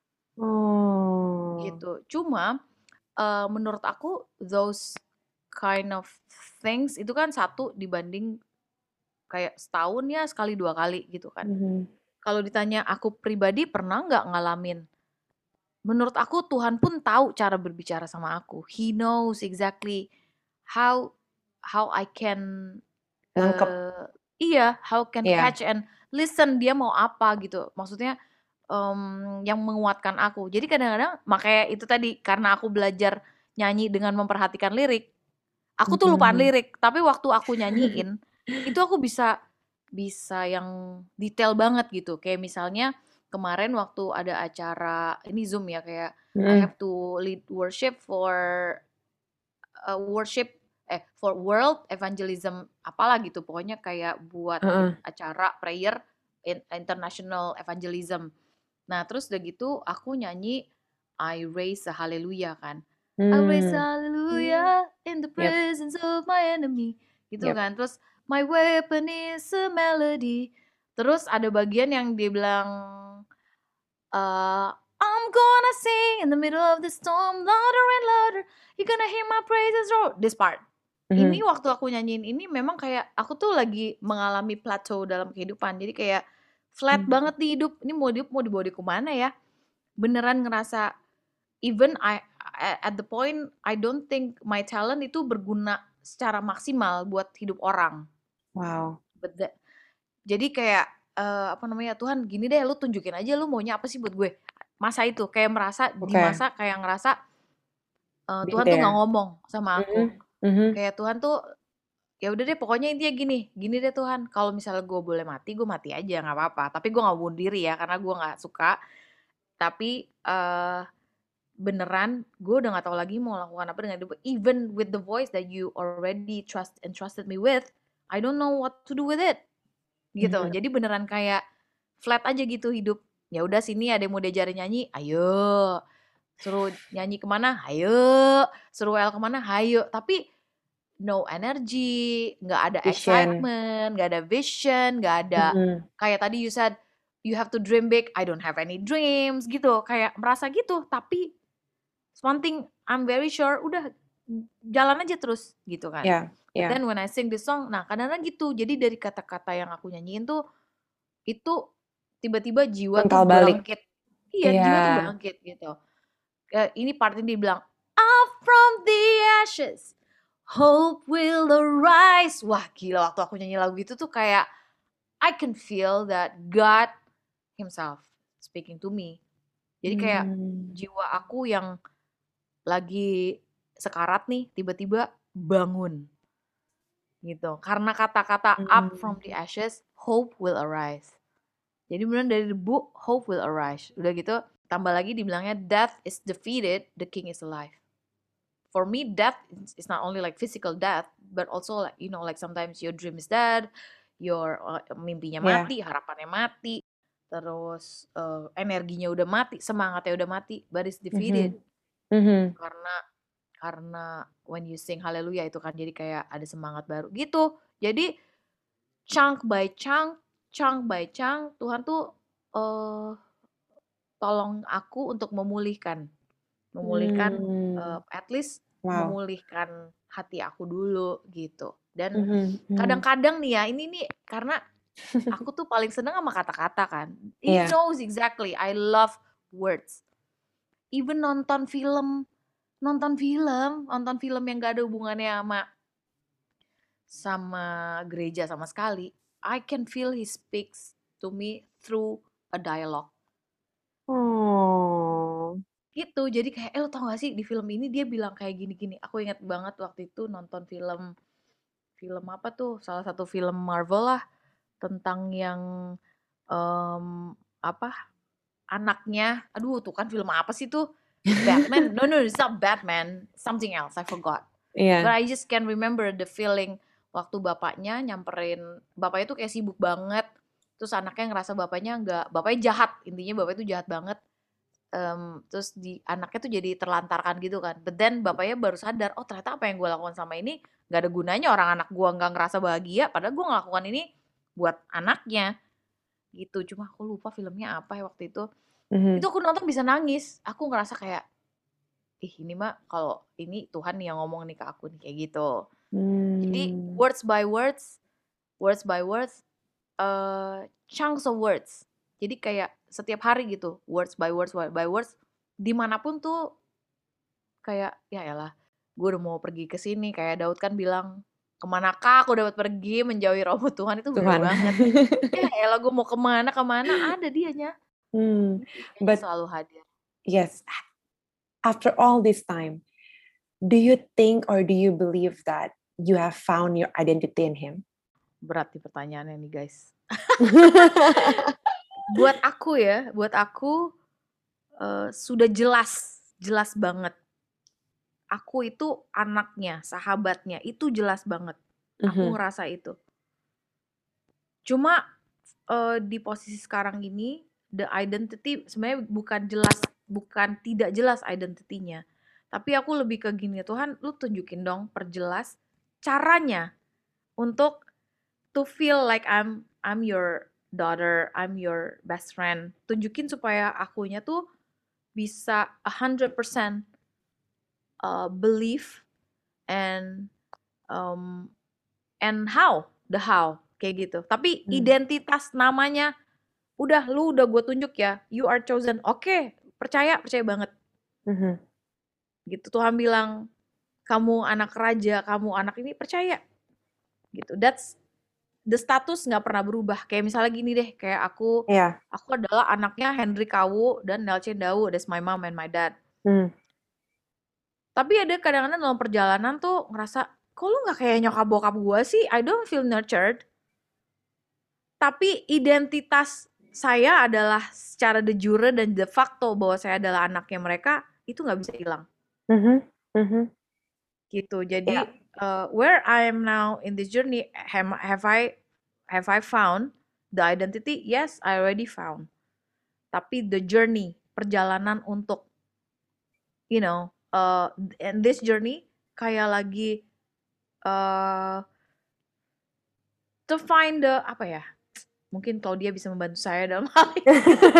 Oh. Gitu. Cuma, eee, menurut aku those kind of things itu kan satu dibanding kayak setahun ya sekali, dua kali gitu kan. Mhm. Kalau ditanya aku pribadi pernah nggak ngalamin, menurut aku Tuhan pun tahu cara berbicara sama aku. He knows exactly how how I can, Nangkep. eee iya, how can Iya. catch and listen, dia mau apa gitu. Maksudnya, mmm, yang menguatkan aku. Jadi kadang-kadang makanya itu tadi, karena aku belajar nyanyi dengan memperhatikan lirik, aku tuh lupaan Mhm. lirik, tapi waktu aku nyanyiin, itu aku bisa bisa yang detail banget gitu. Kayak misalnya kemarin waktu ada acara ini Zoom ya, kayak I Mhm. have to lead worship for, eee, worship eh, for world evangelism apalah gitu, pokoknya kayak buat bik Heeh. acara prayer in international evangelism. Nah terus udah gitu aku nyanyi I raise a hallelujah kan, I raise a Mmm. hallelujah in the Yap. presence of my enemy, gitu Yap. kan. Terus my weapon is a melody. Terus ada bagian yang dia bilang, eee, I'm gonna sing in the middle of the storm louder and louder, you gonna hear my praises roar, this part. ini Mhm. waktu aku nyanyiin ini memang kayak aku tuh lagi mengalami plateau dalam kehidupan. Jadi kayak flat Mmm. banget di hidup. Ini mau hidup mau dibawa dia ke mana ya? Beneran ngerasa even I a at the point I don't think my talent itu berguna secara maksimal buat hidup orang. Wow. But the jadi kayak, eee, apa namanya, "Tuhan gini deh, lu tunjukin aja lu maunya apa sih buat gue." Masa itu kayak merasa di Oke. masa kayak ngerasa, eee, Been Tuhan tuh nggak there. ngomong sama aku. Mhm mhm. Kayak Tuhan tuh, ya udah deh pokoknya intinya gini, "Gini deh Tuhan, kalau misalnya gue boleh mati, gue mati aja nggak apa-apa." Tapi gue nggak bunuh diri ya, karena gue nggak suka. Tapi, eee, beneran gue udah nggak tahu lagi mau lakukan apa dengan hidup gue. Even with the voice that you already trust entrusted me with, I don't know what to do with it. Gitu. Mhm. Jadi beneran kayak flat aja gitu hidup. Ya udah sini ada yang mau diajarin nyanyi, ayo. Suruh nyanyi ke mana, hayo. Suruh W L ke mana, hayo. Tapi no energy, nggak ada Vision. excitement, nggak ada vision, nggak ada Mhm. kayak tadi you said, "You have to dream big." I don't have any dreams gitu. Kayak merasa gitu, tapi one thing I'm very sure, udah jalan aja terus gitu kan. Iya But iya. then when I sing this song, nah kadang-kadang gitu. Jadi dari kata-kata yang aku nyanyiin tuh, itu tiba-tiba jiwa tuh Mental balik. bangkit. Iya, Iya. jiwa tuh bangkit gitu. Kayak ini part ini dia bilang, "Up from the ashes, hope will arise." Wah gila waktu aku nyanyi lagu itu tuh kayak I can feel that God himself speaking to me. Jadi kayak Mmm. jiwa aku yang lagi sekarat nih tiba-tiba bangun. Gitu. Karena kata-kata up from the Mmm. ashes, hope will arise. Jadi beneran dari debu, hope will arise. Udah gitu tambah lagi dibilangnya death is defeated, the king is alive. For me death is not only like physical death, but also like you know like sometimes your dream is dead, your uh, mimpinya Iya. mati, harapannya mati, terus uh, energinya udah mati, semangatnya udah mati, but it's defeated. Mhm mhm. Karena karena when you sing haleluya itu kan jadi kayak ada semangat baru gitu. Jadi chunk by chunk, chunk by chunk Tuhan tuh uh, tolong aku untuk memulihkan. Memulihkan, Mmm. eee, at least Wow. memulihkan hati aku dulu gitu. Dan Mhm mhm. kadang-kadang nih ya, ini nih karena aku tuh paling seneng sama kata-kata kan. He Iya. knows exactly I love words. Even nonton film nonton film nonton film yang gak ada hubungannya sama sama gereja sama sekali, I can feel he speaks to me through a dialogue. Oh. Gitu, jadi kayak, "Eh, lo tau gak sih di film ini dia bilang kayak gini-gini." Aku inget banget waktu itu nonton film film apa tuh, salah satu film Marvel lah, tentang yang, mmm, apa, anaknya aduh tuh kan film apa sih tuh? Batman? No no, it's not Batman, something else, I forgot. But Iya. I just can remember the feeling waktu bapaknya nyamperin bapaknya tuh kayak sibuk banget, terus anaknya ngerasa bapaknya nggak bapaknya jahat, intinya bapaknya tuh jahat banget. Mmm, terus di anaknya tuh jadi terlantarkan gitu kan. But then bapaknya baru sadar, "Oh ternyata apa yang gue lakukan sama ini nggak ada gunanya, orang anak gue nggak ngerasa bahagia, padahal gue ngelakukan ini buat anaknya." Gitu. Cuma aku lupa filmnya apa ya waktu itu. Itu Mhm. aku nonton bisa nangis. Aku ngerasa kayak, "Ih ini mah kalau ini Tuhan nih yang ngomong nih ke aku nih," kayak gitu. Jadi Mmm. words by words, words by words, eee, chunks of words. Jadi kayak setiap hari gitu, words by words by words, dimanapun tuh kayak, "Ya elah, gue udah mau pergi ke sini." Kayak Daud kan bilang, "Ke manakah aku dapat pergi menjauhi rohmu Tuhan." Itu bener Tuhan. banget. Ya elah gue mau ke mana ke mana ada dianya. Hmm, Gitu, dianya but selalu hadir. yes, after all this time, do you think or do you believe that you have found your identity in him? Berat nih pertanyaannya nih guys. Buat aku ya, buat aku, eee, sudah jelas, jelas banget. Aku itu anaknya, sahabatnya, itu jelas banget. Aku Mhm. ngerasa itu. Cuma, eee, di posisi sekarang ini, the identity sebenarnya bukan jelas, bukan tidak jelas identity-nya. Tapi aku lebih ke gini, "Tuhan lu tunjukin dong, perjelas caranya untuk to feel like I'm I'm your daughter, I'm your best friend." Tunjukin supaya akunya tuh bisa one hundred percent eee, believe and um, and how, the how, kayak gitu. Tapi Hmm. identitas namanya, udah lu udah gue tunjuk ya, you are chosen. Oke, percaya, percaya banget. Mhm. Gitu, Tuhan bilang, kamu anak raja, kamu anak ini, percaya. Gitu, that's the status nggak pernah berubah. Kayak misalnya gini deh, kayak aku, Iya. aku adalah anaknya Henry Kawu dan Nelce Dawu, that's my mom and my dad. Hmm. Tapi ada kadang-kadang dalam perjalanan tuh ngerasa, kok lu nggak kayak nyokap bokap gue sih? I don't feel nurtured. Tapi identitas saya adalah secara de jure dan de facto bahwa saya adalah anaknya mereka, itu nggak bisa hilang. Mhm. Mhm. Gitu. Iya. Jadi uh, where I am now in this journey, have, have I have I found the identity? Yes, I already found. Tapi the journey, perjalanan untuk, you know, uh, and this journey kayak lagi uh, to find the apa ya? Mungkin Claudia bisa membantu saya dalam hal ini.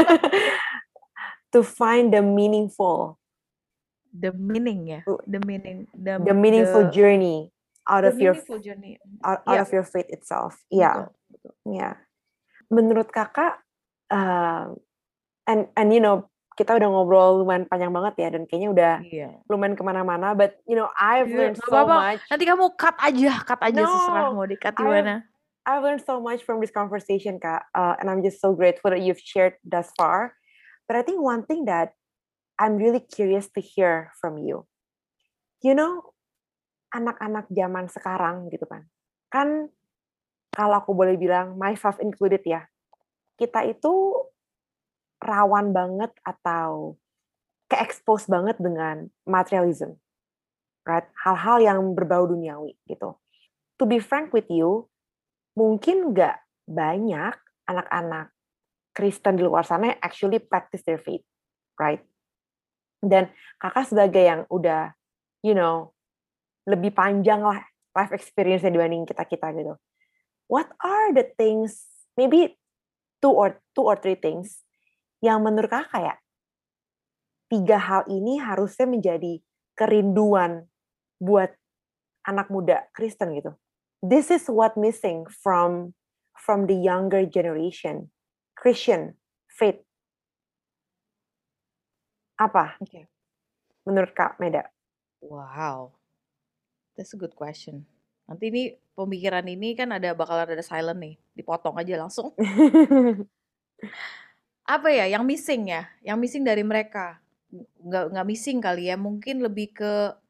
To find the meaningful. The meaning ya, the meaning, the, the meaningful the, journey out the of your meaningful journey. out, out Yeah. of your faith itself. Iya. Betul, betul. Iya. Menurut Kakak, uh, and and you know, kita udah ngobrol lumayan panjang banget ya, dan kayaknya udah Iya. lumayan kemana-mana. But you know, I've Iya, learned nggak so apa-apa. much. Nanti kamu cut aja, cut aja No, seserah mau di-cut di I've mana. I've learned so much from this conversation, Kak, uh, and I'm just so grateful that you've shared thus far. But I think one thing that I'm really curious to hear from you, you know, anak-anak zaman sekarang gitu kan, kan kalau aku boleh bilang, myself included ya, kita itu rawan banget atau ke-expose banget dengan materialism, right? Hal-hal yang berbau duniawi gitu. To be frank with you, mungkin nggak banyak anak-anak Kristen di luar sana yang actually practice their faith, right? Dan Kakak sebagai yang udah, you know, lebih panjang lah life experience-nya dibanding kita-kita gitu. What are the things, maybe two or two or three things yang menurut Kakak ya, tiga hal ini harusnya menjadi kerinduan buat anak muda Kristen gitu. This is what missing from from the younger generation, Christian faith. Apa? Oke. Menurut Kak Meda? Wow, that's a good question. Nanti ini pemikiran ini kan ada bakalan ada silent nih, dipotong aja langsung. Apa ya yang missing ya? Yang missing dari mereka? Nggak nggak missing kali ya, mungkin lebih ke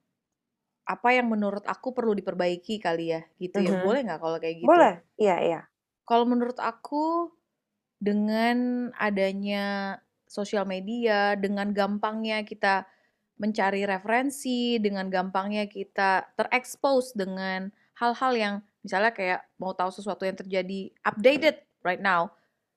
apa yang menurut aku perlu diperbaiki kali ya, gitu ya. Mhm. Boleh nggak kalau kayak gitu? Boleh, iya iya. Kalau menurut aku, dengan adanya sosial media, dengan gampangnya kita mencari referensi, dengan gampangnya kita terekspos dengan hal-hal yang misalnya kayak mau tahu sesuatu yang terjadi updated right now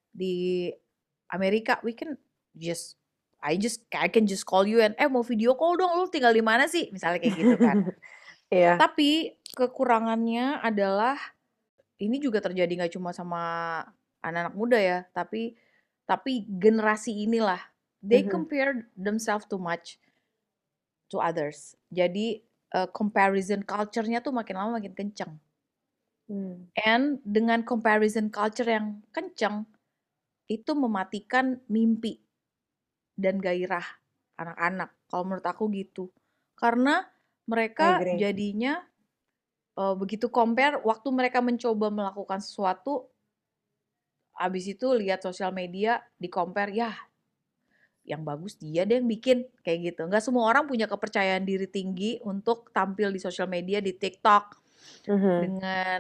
di Amerika, we can just I just I can just call you and eh mau video call dong, lu tinggal di mana sih? Misalnya kayak gitu kan. Iya. Tapi kekurangannya adalah ini juga terjadi nggak cuma sama anak-anak muda ya, tapi tapi generasi inilah they Mhm. compare themselves too much to others. Jadi uh, comparison culture-nya tuh makin lama makin kenceng. Hmm. And dengan comparison culture yang kenceng, itu mematikan mimpi dan gairah anak-anak. Kalau menurut aku gitu. Karena mereka Agree. jadinya uh, begitu compare, waktu mereka mencoba melakukan sesuatu, abis itu lihat sosial media, di compare, ya yang bagus dia deh yang bikin, kayak gitu. Nggak semua orang punya kepercayaan diri tinggi untuk tampil di sosial media, di TikTok, Mhm. dengan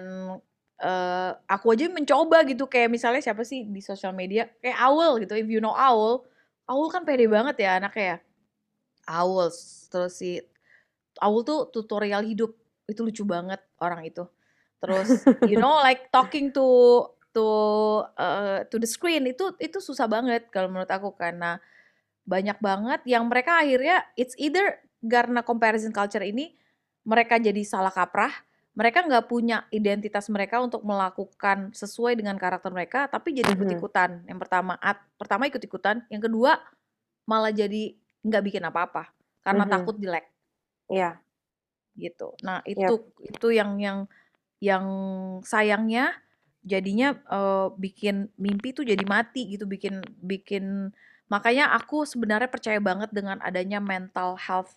uh, aku aja mencoba gitu, kayak misalnya siapa sih di sosial media, kayak Aul gitu, if you know Aul, Aul kan pede banget ya anaknya ya, Aul, terus si Aul tuh tutorial hidup, itu lucu banget orang itu. Terus you know like talking to to uh, to the screen, itu itu susah banget kalau menurut aku, karena banyak banget yang mereka akhirnya it's either karena comparison culture ini mereka jadi salah kaprah, mereka nggak punya identitas mereka untuk melakukan sesuai dengan karakter mereka, tapi jadi Mhm. ikut-ikutan. Yang pertama, at, pertama ikut-ikutan, yang kedua malah jadi nggak bikin apa-apa karena Mhm. takut jelek. Iya. gitu. Nah Yap. itu itu yang yang yang sayangnya jadinya uh, bikin mimpi tuh jadi mati gitu, bikin bikin makanya aku sebenarnya percaya banget dengan adanya mental health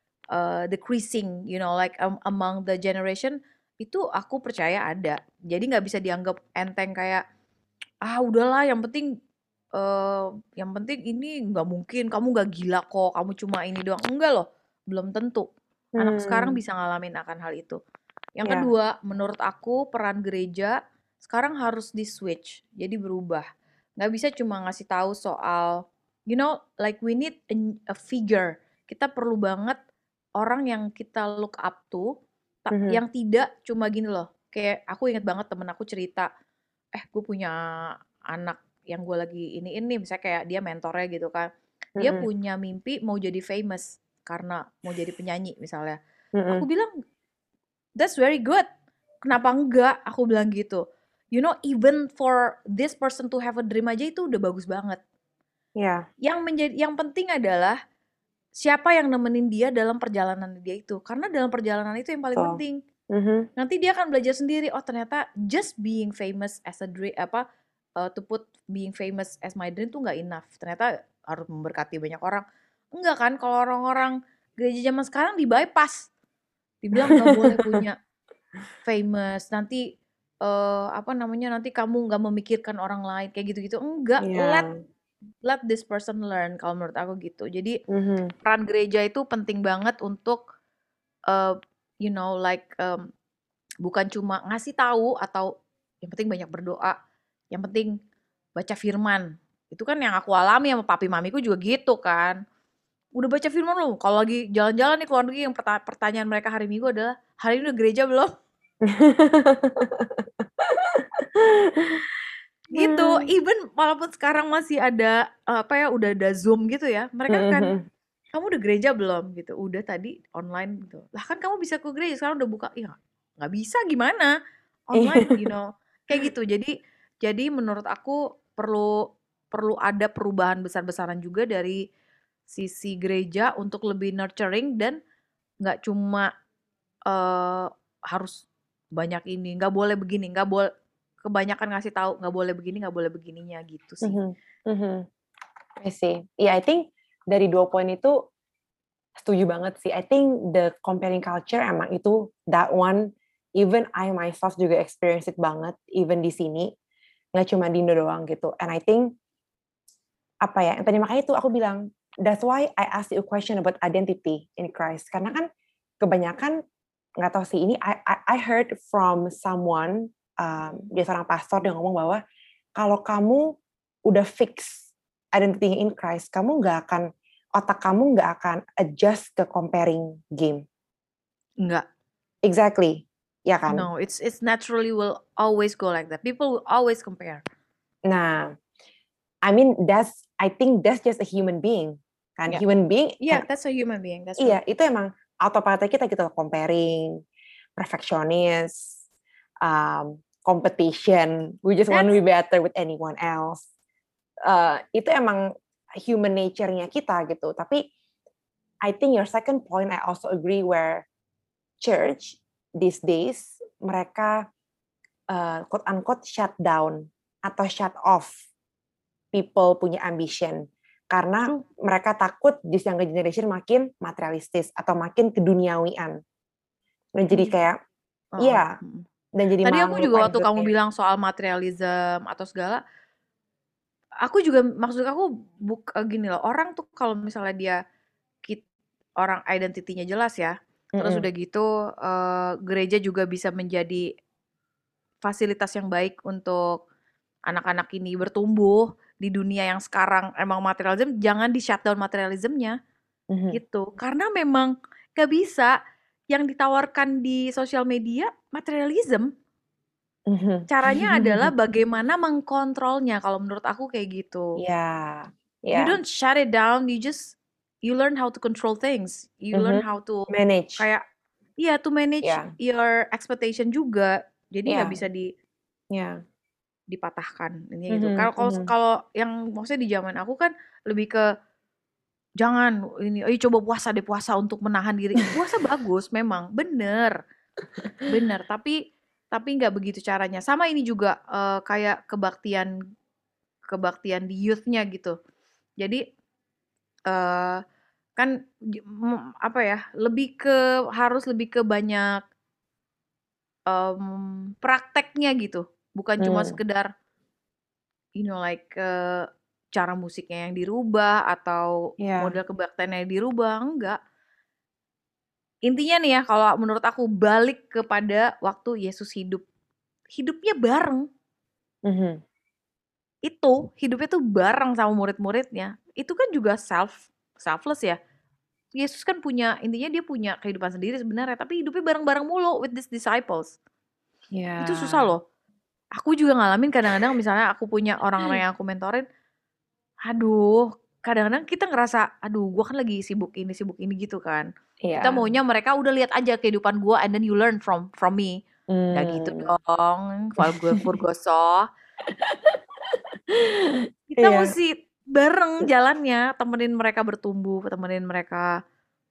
uh, decreasing, you know, like um, among the generation itu aku percaya ada. Jadi nggak bisa dianggap enteng kayak ah udahlah yang penting uh, yang penting ini nggak mungkin, kamu nggak gila kok, kamu cuma ini doang. Enggak loh, belum tentu. Anak sekarang Hmm, bisa ngalamin akan hal itu. Yang ya, kedua, menurut aku peran gereja sekarang harus di-switch, jadi berubah. Nggak bisa cuma ngasih tahu soal, you know, like we need a, a figure. Kita perlu banget orang yang kita look up to, ta- mhm, yang tidak cuma gini loh. Kayak aku inget banget temen aku cerita, eh gue punya anak yang gue lagi ini ini, misalnya kayak dia mentornya gitu kan. Dia mhm, punya mimpi mau jadi famous karena mau jadi penyanyi misalnya. Aku mhm, bilang, that's very good. Kenapa enggak? Aku bilang gitu. You know, even for this person to have a dream aja itu udah bagus banget. ya, Yang menjadi yang penting adalah siapa yang nemenin dia dalam perjalanan dia itu. Karena dalam perjalanan itu yang paling betul. penting. Mhm, Nanti dia akan belajar sendiri. Oh, ternyata just being famous as a dream apa uh, to put being famous as my dream tuh nggak enough. Ternyata harus memberkati banyak orang. Enggak kan? Kalau orang-orang gereja zaman sekarang di bypass, dibilang nggak boleh punya famous, nanti, eee, apa namanya, nanti kamu nggak memikirkan orang lain, kayak gitu-gitu. Enggak, let iya, let this person learn, kalau menurut aku gitu. Jadi, mhm, peran gereja itu penting banget untuk, eee, you know, like, mmm, bukan cuma ngasih tahu atau yang penting banyak berdoa, yang penting baca firman. Itu kan yang aku alami sama papi mamiku juga gitu kan. "Udah baca firman belum?" Kalau lagi jalan-jalan nih ke luar negeri yang perta pertanyaan mereka hari Minggu adalah, "Hari ini udah gereja belum?" Gitu, Mmm, even walaupun sekarang masih ada, eee, apa ya, udah ada Zoom gitu ya, mereka mhm, akan, mhm. "Kamu udah gereja belum?" Gitu, "Udah tadi online," gitu. "Lah kan kamu bisa ke gereja, sekarang udah buka." "Ya nggak bisa gimana? Online," you Iya, know, kayak gitu. Jadi jadi menurut aku perlu perlu ada perubahan besar-besaran juga dari sisi gereja untuk lebih nurturing dan nggak cuma, eee, harus banyak ini, nggak boleh begini, nggak boleh kebanyakan ngasih tahu, nggak boleh begini, nggak boleh begininya, gitu sih. mhm, mhm, I see. Iya, I think dari dua poin itu setuju banget sih. I think the comparing culture emang itu that one, even I myself juga experience it banget, even di sini, nggak cuma di Indo doang gitu. And I think, apa ya, yang tadi makanya itu aku bilang, that's why I ask you a question about identity in Christ. Karena kan kebanyakan, nggak tahu sih, ini I, I, I heard from someone, um, dia seorang pastor, dia ngomong bahwa kalau kamu udah fix identity in Christ, kamu nggak akan, otak kamu nggak akan adjust ke comparing game. Enggak. Exactly, ya kan? No, it's it's naturally will always go like that. People will always compare. Nah, I mean that's, I think that's just a human being, kan? Yeah. Human being Yeah, can, that's a human being. That's true. iya itu emang autopilot kita gitu, comparing, perfectionist, um, competition, we just want to That's be better with anyone else. Uh, itu emang human nature-nya kita gitu. Tapi I think your second point, I also agree, where church these days mereka uh, quote unquote shut down atau shut off people punya ambition karena true. mereka takut this younger generation makin materialistis atau makin keduniawian. Dan jadi Iya. kayak, Heeh. iya, Mm. dan jadi Tadi malah aku juga ngelupain waktu kamu rootnya. bilang soal materialism atau segala, aku juga maksud aku buk eh, gini loh, orang tuh kalau misalnya dia kit, orang identitinya jelas ya, terus Mm-mm. udah gitu eh, gereja juga bisa menjadi fasilitas yang baik untuk anak-anak ini bertumbuh di dunia yang sekarang emang materialism, jangan di shutdown materialismnya Mhm. gitu. Karena memang gak bisa yang ditawarkan di sosial media materialism. Mhm. Caranya adalah bagaimana mengkontrolnya kalau menurut aku kayak gitu. Ya, You ya, don't shut it down, you just you learn how to control things. You learn Mhm. how to Manage, kayak iya to manage ya, your expectation juga. Jadi nggak ya, bisa di ya, dipatahkan ini gitu. Mhm. Kalau kalau Mhm. kalau yang maksudnya di zaman aku kan lebih ke jangan ini, ayo coba puasa deh, puasa untuk menahan diri. Puasa bagus memang, bener, bener. Tapi tapi nggak begitu caranya. Sama ini juga uh, kayak kebaktian kebaktian di youth-nya gitu. Jadi uh, kan apa ya, lebih ke harus lebih ke banyak um, prakteknya gitu, bukan hmm. cuma sekedar you know like uh, cara musiknya yang dirubah atau yeah. model kebaktiannya yang dirubah, enggak. Intinya nih ya, kalau menurut aku balik kepada waktu Yesus hidup, hidupnya bareng. Mm-hmm. Itu hidupnya tuh bareng sama murid-muridnya. Itu kan juga self selfless ya. Yesus kan punya, intinya dia punya kehidupan sendiri sebenarnya, tapi hidupnya bareng-bareng mulu with these disciples. Yeah. Itu susah loh. Aku juga ngalamin kadang-kadang misalnya aku punya orang-orang yang aku mentorin, aduh, kadang-kadang kita ngerasa, aduh, gue kan lagi sibuk ini, sibuk ini gitu kan. Yeah. Kita maunya mereka udah lihat aja kehidupan gue, and then you learn from from me. Mm. Gak gitu dong, kalau gue Furgoso. Kita yeah. mesti bareng jalannya, temenin mereka bertumbuh, temenin mereka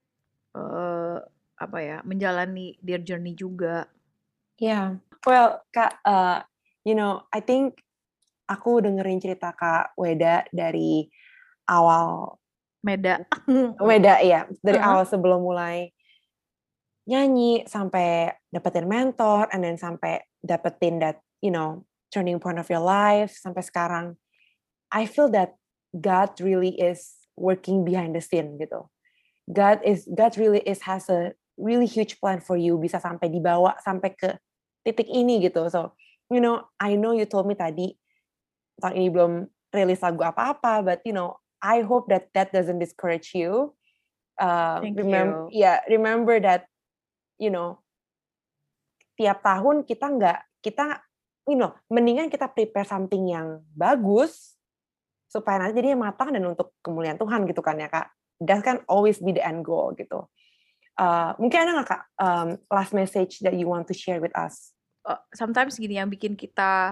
uh, apa ya, menjalani their journey juga. Yeah, well, Kak, uh, you know, I think aku dengerin cerita Kak Weda dari awal Meda. Meda ya, dari uh-huh. awal sebelum mulai nyanyi sampai dapetin mentor, and then sampai dapetin that, you know, turning point of your life sampai sekarang. I feel that God really is working behind the scene gitu. God is God really is has a really huge plan for you, bisa sampai dibawa sampai ke titik ini gitu. So, you know, I know you told me tadi tahun ini belum rilis lagu apa-apa, but you know, I hope that that doesn't discourage you. Uh, Thank remember, you. Yeah, remember that, you know, tiap tahun kita nggak, kita, you know, mendingan kita prepare something yang bagus, supaya nanti jadinya matang dan untuk kemuliaan Tuhan gitu kan ya Kak. That can always be the end goal gitu. Uh, mungkin ada nggak Kak um, last message that you want to share with us? Uh, sometimes gini yang bikin kita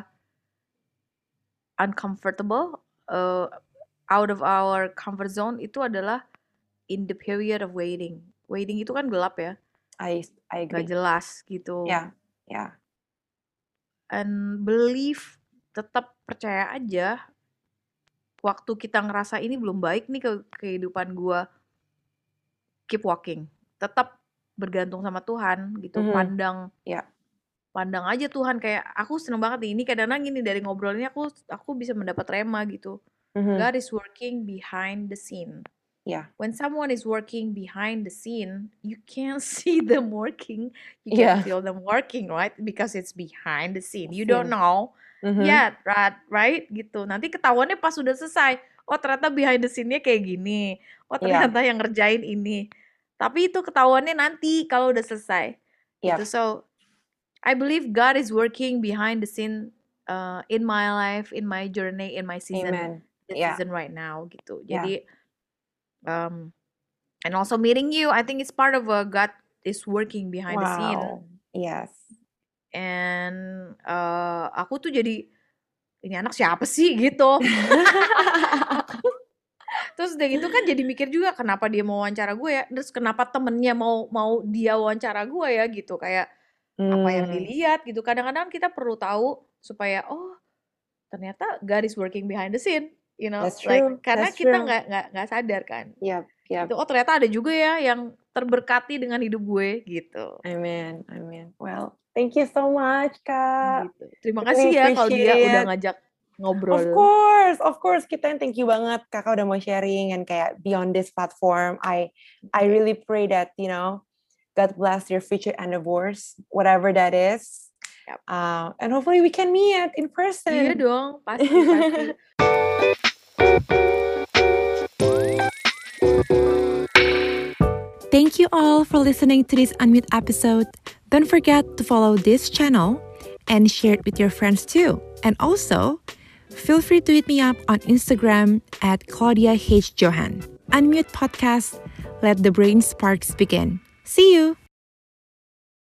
uncomfortable, uh, out of our comfort zone itu adalah in the period of waiting. Waiting itu kan gelap ya. I I agree. Gak jelas gitu. Ya, yeah, ya. Yeah. And believe, tetap percaya aja. Waktu kita ngerasa ini belum baik nih ke kehidupan gue, keep walking. Tetap bergantung sama Tuhan gitu. Mm-hmm. Pandang. Ya. Yeah. Pandang aja Tuhan, kayak aku seneng banget nih, ini kadang-kadang gini dari ngobrol ini aku aku bisa mendapat rema gitu. Mm-hmm. God is working behind the scene. Yeah. When someone is working behind the scene, you can't see them working, you yeah. can't feel them working, right? Because it's behind the scene. You don't know mm-hmm. yet, right? Right? Gitu. Nanti ketahuannya pas sudah selesai. Oh ternyata behind the scene-nya kayak gini. Oh ternyata yeah. yang ngerjain ini. Tapi itu ketahuannya nanti kalau udah selesai. Yeah. Gitu. So I believe God is working behind the scene uh, in my life, in my journey, in my season, Amen. the yeah. season right now, gitu. Yeah. Jadi, um, and also meeting you, I think it's part of uh, God is working behind wow. the scene. Yes. And uh, aku tuh jadi ini anak siapa sih gitu. Terus udah gitu kan jadi mikir juga kenapa dia mau wawancara gue ya, terus kenapa temennya mau mau dia wawancara gue ya gitu, kayak Hmm. apa yang dilihat gitu. Kadang-kadang kita perlu tahu supaya oh ternyata God is working behind the scene, you know, That's like true. karena That's kita true. nggak nggak nggak sadar kan. Yep, yep. Gitu. Oh ternyata ada juga ya yang terberkati dengan hidup gue gitu. Amen, amen. Well, thank you so much Kak. Gitu. Terima kasih ya kalau dia it. udah ngajak ngobrol. Of course, of course. Kita yang thank you banget Kakak udah mau sharing and kayak beyond this platform. I I really pray that you know. God bless your future endeavors, whatever that is. Yep. Uh, and hopefully we can meet in person. Iya dong, pasti, pasti. Thank you all for listening to this Unmute episode. Don't forget to follow this channel and share it with your friends too. And also, feel free to hit me up on Instagram at Claudia H. Johan. Unmute Podcast, let the brain sparks begin. See you!